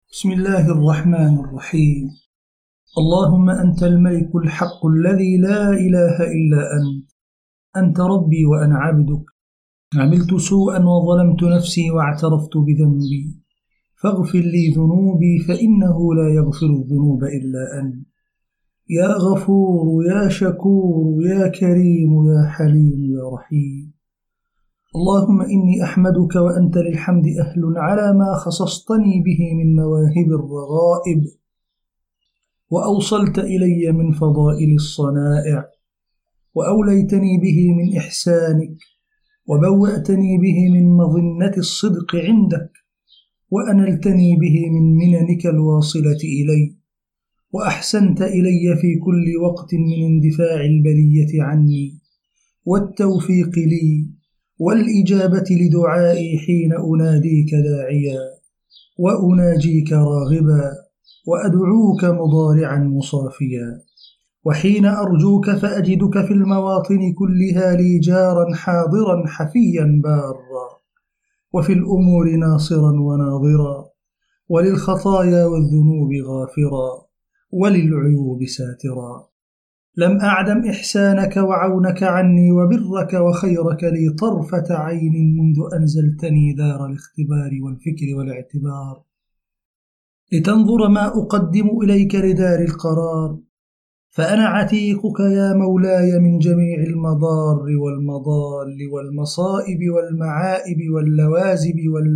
بسم الله الرحمن الرحيم. اللهم أنت الملك الحق الذي لا إله إلا أنت ربي وأنا عبدك، عملت سوءا وظلمت نفسي واعترفت بذنبي، فاغفر لي ذنوبي فإنه لا يغفر الذنوب إلا أنت، يا غفور يا شكور يا كريم يا حليم يا رحيم. اللهم إني أحمدك وأنت للحمد أهل على ما خصصتني به من مواهب الرغائب، وأوصلت إلي من فضائل الصنائع، وأوليتني به من إحسانك، وبوأتني به من مظنة الصدق عندك، وأنلتني به من مننك الواصلة إلي، وأحسنت إلي في كل وقت من اندفاع البلية عني، والتوفيق لي، والإجابة لدعائي حين أناديك داعيا، وأناجيك راغبا، وأدعوك مضارعا مصافيا، وحين أرجوك فأجدك في المواطن كلها لي جارا حاضرا حفيا بارا، وفي الأمور ناصرا وناظرا، وللخطايا والذنوب غافرا، وللعيوب ساترا. لم أعدم إحسانك وعونك عني وبرك وخيرك لي طرفة عين منذ أنزلتني دار الاختبار والفكر والاعتبار، لتنظر ما أقدم إليك لدار القرار، فأنا عتيقك يا مولاي من جميع المضار والمضال والمصائب والمعائب واللوازم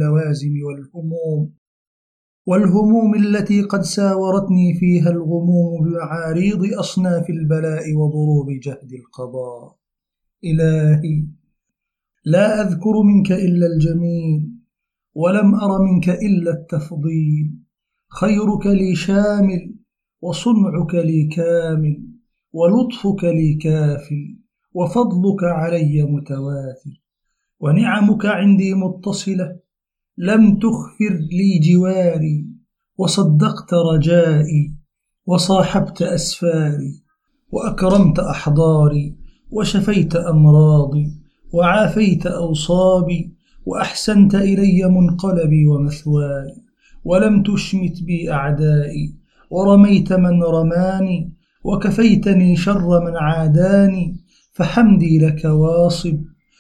والهموم التي قد ساورتني فيها الغموم بمعاريض أصناف البلاء وضروب جهد القضاء. إلهي، لا أذكر منك إلا الجميل، ولم أر منك إلا التفضيل، خيرك لي شامل، وصنعك لي كامل، ولطفك لي كافل، وفضلك علي متواتر، ونعمك عندي متصلة، لم تخفر لي جواري، وصدقت رجائي، وصاحبت أسفاري، وأكرمت أحضاري، وشفيت أمراضي، وعافيت أوصابي، وأحسنت إلي منقلبي ومثواي، ولم تشمت بي أعدائي، ورميت من رماني، وكفيتني شر من عاداني، فحمدي لك واصب،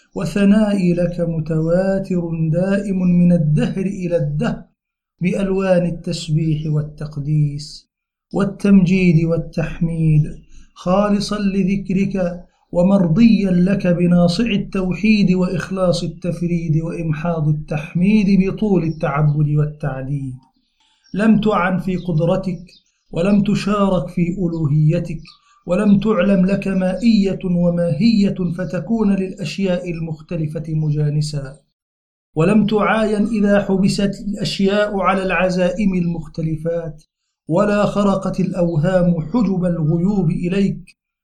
وثنائي لك متواتر دائم من الدهر إلى الدهر، بألوان التسبيح والتقديس والتمجيد والتحميد، خالصا لذكرك ومرضيا لك بناصع التوحيد وإخلاص التفريد وإمحاض التحميد بطول التعبد والتعديد. لم تعن في قدرتك، ولم تشارك في ألوهيتك، ولم تعلم لك مائية وماهية فتكون للأشياء المختلفة مجانسا، ولم تعاين إذا حبست الأشياء على العزائم المختلفات، ولا خرقت الأوهام حجب الغيوب إليك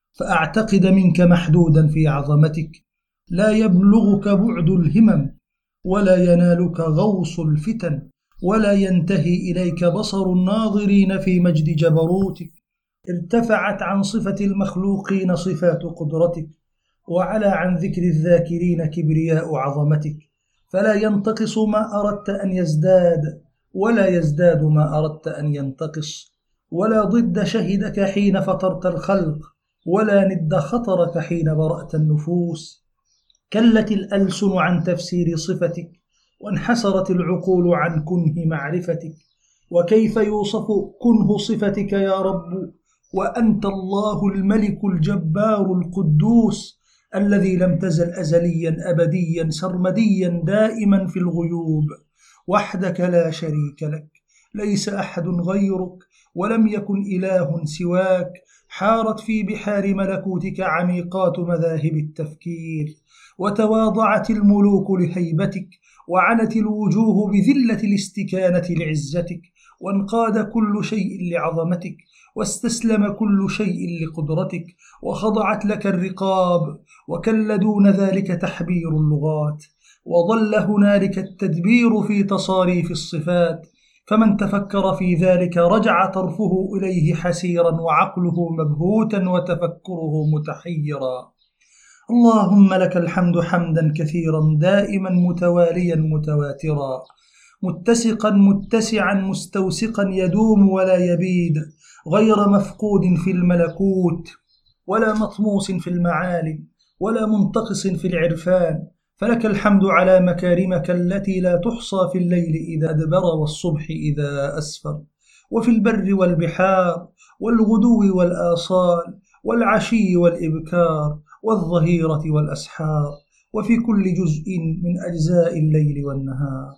فأعتقد منك محدودا في عظمتك، لا يبلغك بعد الهمم، ولا ينالك غوص الفتن، ولا ينتهي إليك بصر الناظرين في مجد جبروتك. ارتفعت عن صفة المخلوقين صفات قدرتك، وعلى عن ذكر الذاكرين كبرياء عظمتك، فلا ينتقص ما أردت أن يزداد، ولا يزداد ما أردت أن ينتقص، ولا ضد شهدك حين فطرت الخلق، ولا ند خطرك حين برأت النفوس. كلت الألسن عن تفسير صفتك، وانحسرت العقول عن كنه معرفتك، وكيف يوصف كنه صفتك يا رب وأنت الله الملك الجبار القدوس، الذي لم تزل أزليا أبديا سرمديا دائما في الغيوب، وحدك لا شريك لك، ليس أحد غيرك، ولم يكن إله سواك، حارت في بحار ملكوتك عميقات مذاهب التفكير، وتواضعت الملوك لهيبتك، وعنت الوجوه بذلة الاستكانة لعزتك، وانقاد كل شيء لعظمتك، واستسلم كل شيء لقدرتك، وخضعت لك الرقاب، وكل دون ذلك تحبير اللغات، وظل هنالك التدبير في تصاريف الصفات، فمن تفكر في ذلك رجع طرفه إليه حسيرا، وعقله مبهوتا، وتفكره متحيرا. اللهم لك الحمد حمدا كثيرا دائما متواليا متواترا، متسقا متسعا مستوسقا يدوم ولا يبيد، غير مفقود في الملكوت ولا مطموس في المعالم ولا منتقص في العرفان. فلك الحمد على مكارمك التي لا تحصى في الليل إذا أدبر والصبح إذا أسفر، وفي البر والبحار والغدو والآصال والعشي والإبكار والظهيرة والأسحار، وفي كل جزء من أجزاء الليل والنهار.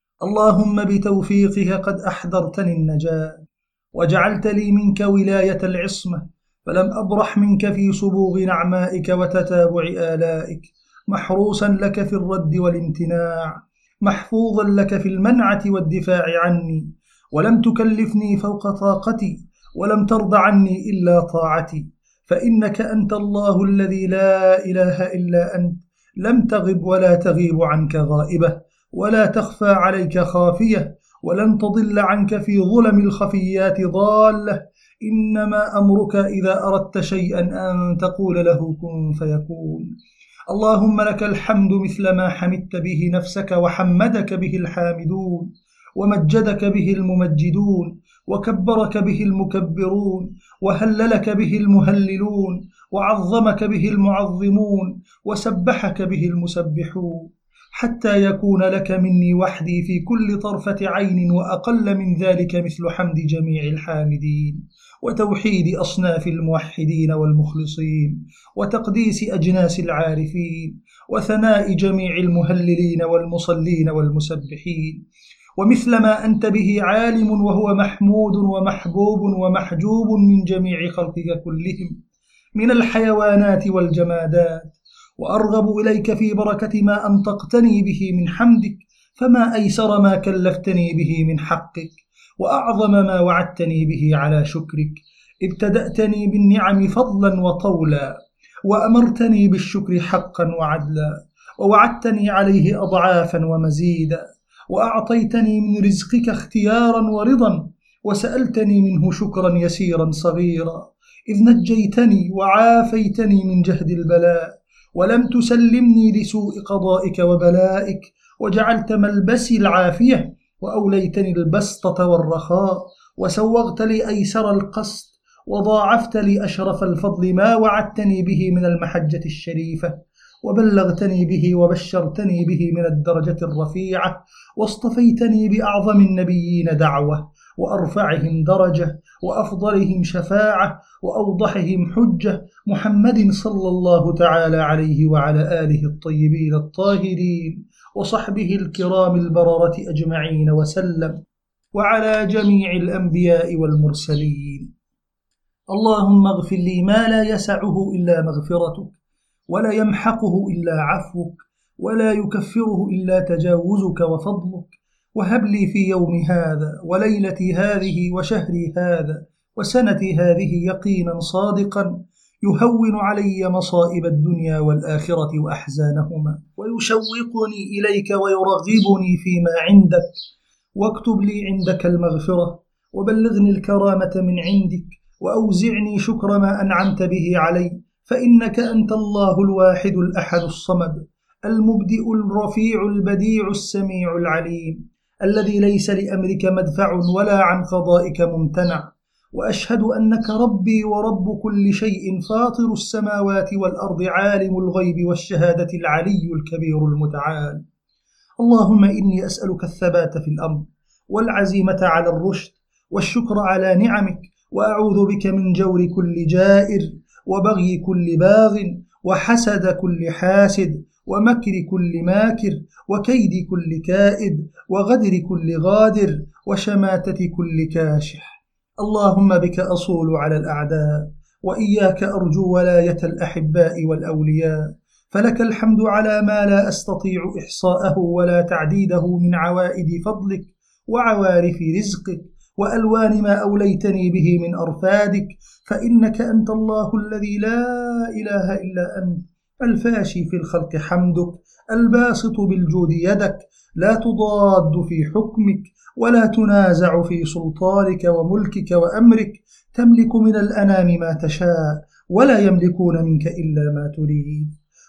اللهم بتوفيقك قد أحضرتني النجاة، وجعلت لي منك ولاية العصمة، فلم أبرح منك في صبوغ نعمائك وتتابع آلائك، محروسا لك في الرد والامتناع، محفوظا لك في المنعة والدفاع عني، ولم تكلفني فوق طاقتي، ولم ترض عني إلا طاعتي، فإنك أنت الله الذي لا إله إلا أنت، لم تغب ولا تغيب عنك غائبة، ولا تخفى عليك خافية، ولن تضل عنك في ظلم الخفيات ضالة. إنما أمرك إذا أردت شيئا أن تقول له كن فيكون. اللهم لك الحمد مثل ما حمدت به نفسك وحمدك به الحامدون، ومجدك به الممجدون، وكبرك به المكبرون، وهللك به المهللون، وعظمك به المعظمون، وسبحك به المسبحون، حتى يكون لك مني وحدي في كل طرفة عين، وأقل من ذلك مثل حمد جميع الحامدين، وتوحيد أصناف الموحدين والمخلصين، وتقديس أجناس العارفين، وثناء جميع المهللين والمصلين والمسبحين، ومثل ما أنت به عالم وهو محمود ومحبوب ومحجوب من جميع خلقك كلهم من الحيوانات والجمادات. وأرغب إليك في بركة ما أنطقتني به من حمدك، فما أيسر ما كلفتني به من حقك، وأعظم ما وعدتني به على شكرك. ابتدأتني بالنعم فضلا وطولا، وأمرتني بالشكر حقا وعدلا، ووعدتني عليه أضعافا ومزيدا، وأعطيتني من رزقك اختيارا ورضا، وسألتني منه شكرا يسيرا صغيرا، إذ نجيتني وعافيتني من جهد البلاء، ولم تسلمني لسوء قضائك وبلائك، وجعلت ملبسي العافية، وأوليتني البسطة والرخاء، وسوغت لي أيسر القصد، وضاعفت لي أشرف الفضل ما وعدتني به من المحجة الشريفة، وبلغتني به وبشرتني به من الدرجة الرفيعة، واصطفيتني بأعظم النبيين دعوة، وأرفعهم درجة، وأفضلهم شفاعة، وأوضحهم حجة، محمد صلى الله تعالى عليه وعلى آله الطيبين الطاهرين، وصحبه الكرام البررة أجمعين وسلم، وعلى جميع الأنبياء والمرسلين. اللهم اغفر لي ما لا يسعه إلا مغفرتك، ولا يمحقه إلا عفوك، ولا يكفره إلا تجاوزك وفضلك، وهب لي في يوم هذا وليلتي هذه وشهري هذا وسنتي هذه يقينا صادقا يهون علي مصائب الدنيا والآخرة وأحزانهما، ويشوقني إليك ويرغبني فيما عندك، واكتب لي عندك المغفرة، وبلغني الكرامة من عندك، وأوزعني شكر ما أنعمت به علي، فإنك أنت الله الواحد الأحد الصمد، المبدئ الرفيع البديع السميع العليم، الذي ليس لأمرك مدفع ولا عن قضائك ممتنع. وأشهد أنك ربي ورب كل شيء، فاطر السماوات والأرض، عالم الغيب والشهادة، العلي الكبير المتعال. اللهم إني أسألك الثبات في الأمر، والعزيمة على الرشد، والشكر على نعمك، وأعوذ بك من جور كل جائر، وبغي كل باغ، وحسد كل حاسد، ومكر كل ماكر، وكيد كل كائد، وغدر كل غادر، وشماتة كل كاشح. اللهم بك أصول على الأعداء، وإياك أرجو ولاية الأحباء والأولياء، فلك الحمد على ما لا أستطيع إحصاءه ولا تعديده من عوائد فضلك وعوارف رزقك، وألوان ما أوليتني به من أرفادك، فإنك أنت الله الذي لا إله إلا أنت، الفاشي في الخلق حمدك، الباسط بالجود يدك، لا تضاد في حكمك، ولا تنازع في سلطانك وملكك وأمرك، تملك من الأنام ما تشاء، ولا يملكون منك إلا ما تريد.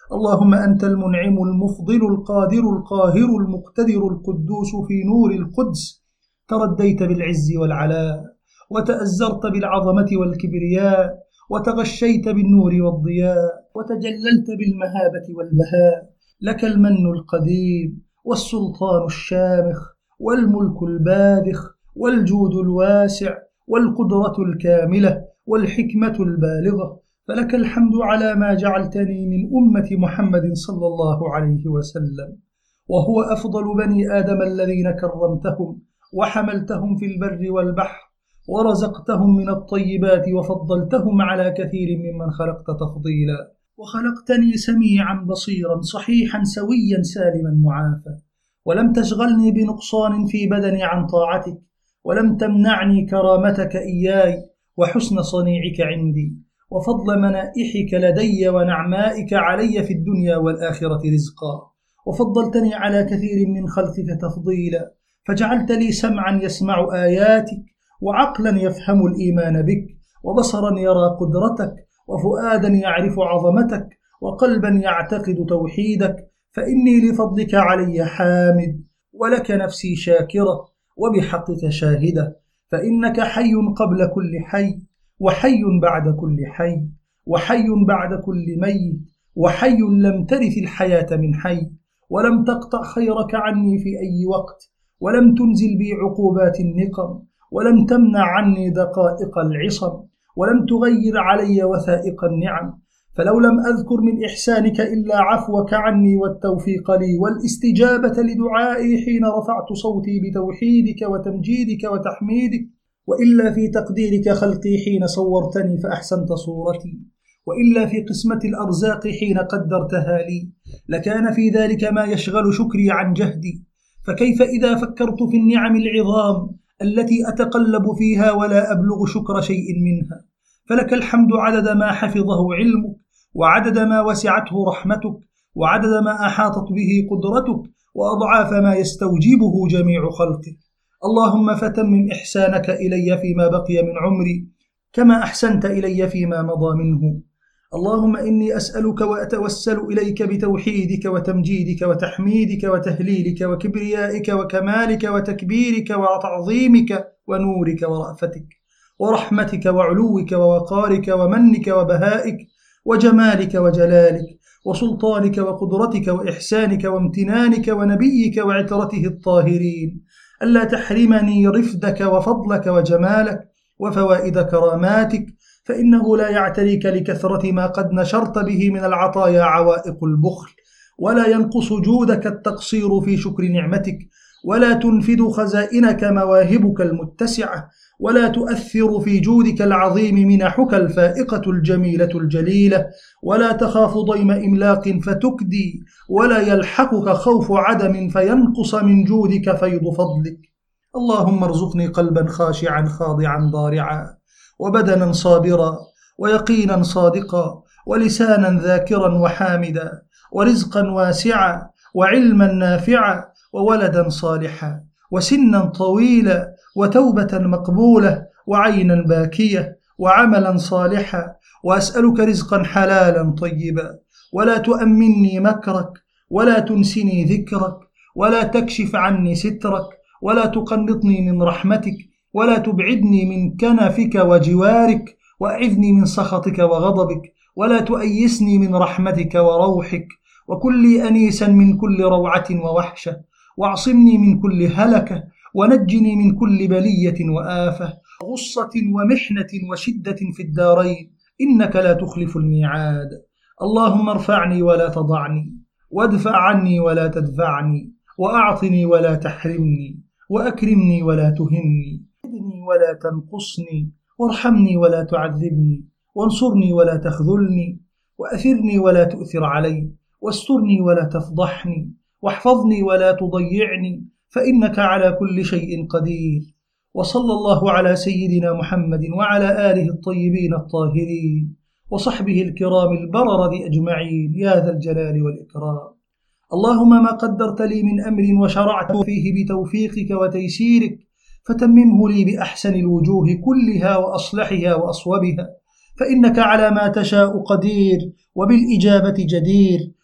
اللهم أنت المنعم المفضل القادر القاهر المقتدر القدوس في نور القدس، ترديت بالعز والعلاء، وتأزرت بالعظمة والكبرياء، وتغشيت بالنور والضياء، وتجللت بالمهابة والبهاء. لك المن القديم والسلطان الشامخ والملك الباذخ والجود الواسع والقدرة الكاملة والحكمة البالغة، فلك الحمد على ما جعلتني من أمة محمد صلى الله عليه وسلم، وهو أفضل بني آدم الذين كرمتهم وحملتهم في البر والبحر ورزقتهم من الطيبات وفضلتهم على كثير ممن خلقت تفضيلا، وخلقتني سميعا بصيرا صحيحا سويا سالما معافى، ولم تشغلني بنقصان في بدني عن طاعتك، ولم تمنعني كرامتك إياي وحسن صنيعك عندي وفضل منائحك لدي ونعمائك علي في الدنيا والآخرة رزقا، وفضلتني على كثير من خلقك تفضيلا، فجعلت لي سمعا يسمع آياتك، وعقلا يفهم الإيمان بك، وبصرا يرى قدرتك، وفؤادا يعرف عظمتك، وقلبا يعتقد توحيدك، فإني لفضلك علي حامد، ولك نفسي شاكرة، وبحقك شاهدة، فإنك حي قبل كل حي، وحي بعد كل حي، وحي بعد كل ميت، وحي لم ترث الحياة من حي، ولم تقطع خيرك عني في أي وقت، ولم تنزل بي عقوبات النقم، ولم تمنع عني دقائق العصم، ولم تغير علي وثائق النعم، فلو لم أذكر من إحسانك إلا عفوك عني والتوفيق لي والاستجابة لدعائي حين رفعت صوتي بتوحيدك وتمجيدك وتحميدك، وإلا في تقديرك خلقي حين صورتني فأحسنت صورتي، وإلا في قسمة الأرزاق حين قدرتها لي، لكان في ذلك ما يشغل شكري عن جهدي، فكيف إذا فكرت في النعم العظام التي أتقلب فيها ولا أبلغ شكر شيء منها؟ فلك الحمد عدد ما حفظه علمك، وعدد ما وسعته رحمتك، وعدد ما أحاطت به قدرتك، وأضعاف ما يستوجبه جميع خلقك. اللهم فتمم إحسانك إلي فيما بقي من عمري كما أحسنت إلي فيما مضى منه. اللهم إني أسألك وأتوسل إليك بتوحيدك وتمجيدك وتحميدك وتهليلك وكبريائك وكمالك وتكبيرك وتعظيمك ونورك ورأفتك ورحمتك وعلوك ووقارك ومنك وبهائك وجمالك وجلالك وسلطانك وقدرتك وإحسانك وامتنانك ونبيك وعترته الطاهرين، ألا تحرمني رفدك وفضلك وجمالك وفوائد كراماتك، فإنه لا يعتريك لكثرة ما قد نشرت به من العطايا عوائق البخل، ولا ينقص جودك التقصير في شكر نعمتك، ولا تنفد خزائنك مواهبك المتسعة، ولا تؤثر في جودك العظيم منحك الفائقة الجميلة الجليلة، ولا تخاف ضيم إملاق فتكدي، ولا يلحقك خوف عدم فينقص من جودك فيض فضلك. اللهم ارزقني قلبا خاشعا خاضعا ضارعا، وبدنا صابرا، ويقينا صادقا، ولسانا ذاكرا وحامدا، ورزقا واسعا، وعلما نافعا، وولدا صالحا، وسنا طويلا، وتوبة مقبولة، وعينا باكية، وعملا صالحا، وأسألك رزقا حلالا طيبا، ولا تؤمني مكرك، ولا تنسني ذكرك، ولا تكشف عني سترك، ولا تقنطني من رحمتك، ولا تبعدني من كنفك وجوارك، وأعذني من سخطك وغضبك، ولا تؤيسني من رحمتك وروحك، وكن لي أنيسا من كل روعة ووحشة، واعصمني من كل هلكة، ونجني من كل بلية وآفة، غصة ومحنة وشدة في الدارين، إنك لا تخلف الميعاد. اللهم ارفعني ولا تضعني، وادفع عني ولا تدفعني، وأعطني ولا تحرمني، وأكرمني ولا تهني، زدني ولا تنقصني، وارحمني ولا تعذبني، وانصرني ولا تخذلني، وأثرني ولا تؤثر علي، واسترني ولا تفضحني، واحفظني ولا تضيعني، فإنك على كل شيء قدير. وصلى الله على سيدنا محمد وعلى آله الطيبين الطاهرين وصحبه الكرام البررة أجمعين يا ذا الجلال والإكرام. اللهم ما قدرت لي من أمر وشرعت فيه بتوفيقك وتيسيرك فتممه لي بأحسن الوجوه كلها وأصلحها وأصوبها، فإنك على ما تشاء قدير، وبالإجابة جدير،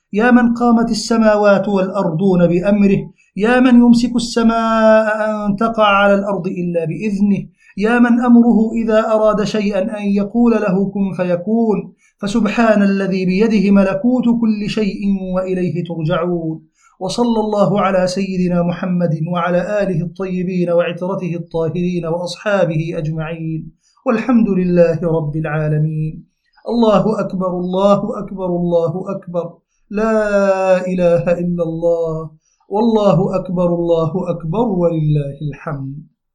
يا من قامت السماوات والأرضون بأمره، يا من يمسك السماء أن تقع على الأرض إلا بإذنه، يا من أمره إذا أراد شيئا أن يقول له كن فيكون، فسبحان الذي بيده ملكوت كل شيء وإليه ترجعون. وصلى الله على سيدنا محمد وعلى آله الطيبين وعترته الطاهرين وأصحابه أجمعين، والحمد لله رب العالمين. الله أكبر الله أكبر الله أكبر، لا إله إلا الله، والله أكبر الله أكبر ولله الحمد.